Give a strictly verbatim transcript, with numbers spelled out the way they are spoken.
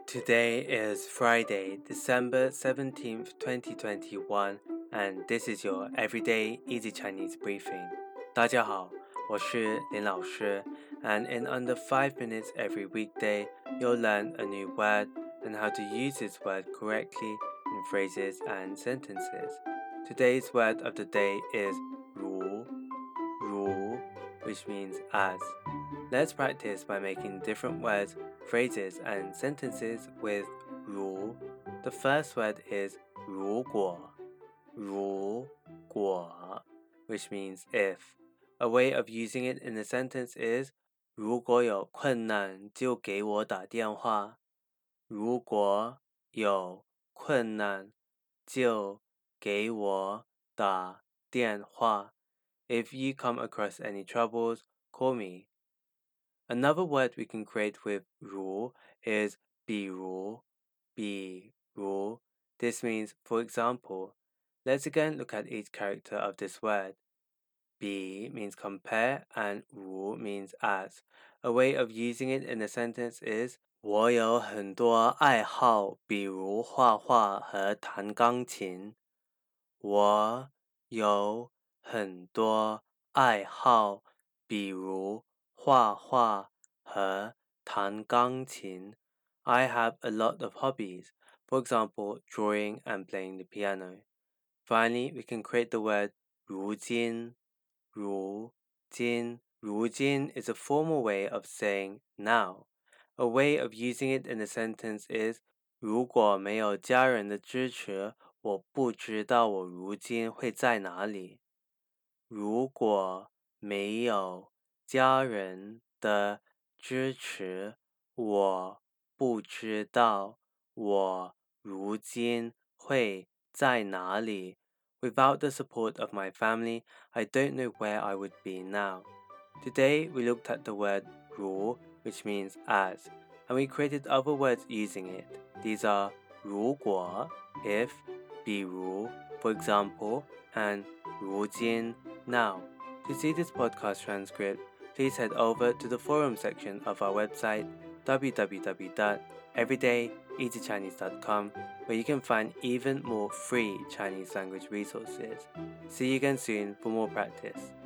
Today is Friday, December seventeenth, twenty twenty-one, and this is your Everyday Easy Chinese Briefing. 大家好，我是林老师 and in under five minutes every weekday, you'll learn a new word and how to use this word correctly in phrases and sentences. Today's word of the day is 如, 如, which means as. Let's practice by making different words, phrases, and sentences with 如. The first word is 如果, 如果, which means if. A way of using it in a sentence is 如果有困难就给我打电话。如果有困难就给我打电话。If you come across any troubles, call me. Another word we can create with 如 is 比如, 比如. This means, for example, let's again look at each character of this word. 比 means compare and 如 means as. A way of using it in a sentence is 我有很多爱好，比如画画和弹钢琴。我有很多爱好，比如画画和弹钢琴。I have a lot of hobbies, for example, drawing and playing the piano. Finally, we can create the word 如今。如今，如今 is a formal way of saying now. A way of using it in a sentence is 如果没有家人的支持，我不知道我如今会在哪里。如果没有家人的支持，我不知道我如今会在哪里。Without the support of my family, I don't know where I would be now. Today, we looked at the word 如, which means as, and we created other words using it. These are 如果, if, 比如, for example, and 如今, now. To see this podcast transcript, please head over to the forum section of our website, w w w dot everyday easy chinese dot com, where you can find even more free Chinese language resources. See you again soon for more practice.